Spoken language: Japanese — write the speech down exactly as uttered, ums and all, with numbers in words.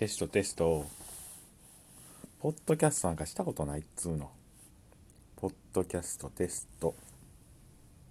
テストテスト。ポッドキャストなんかしたことないっつうの。ポッドキャストテスト。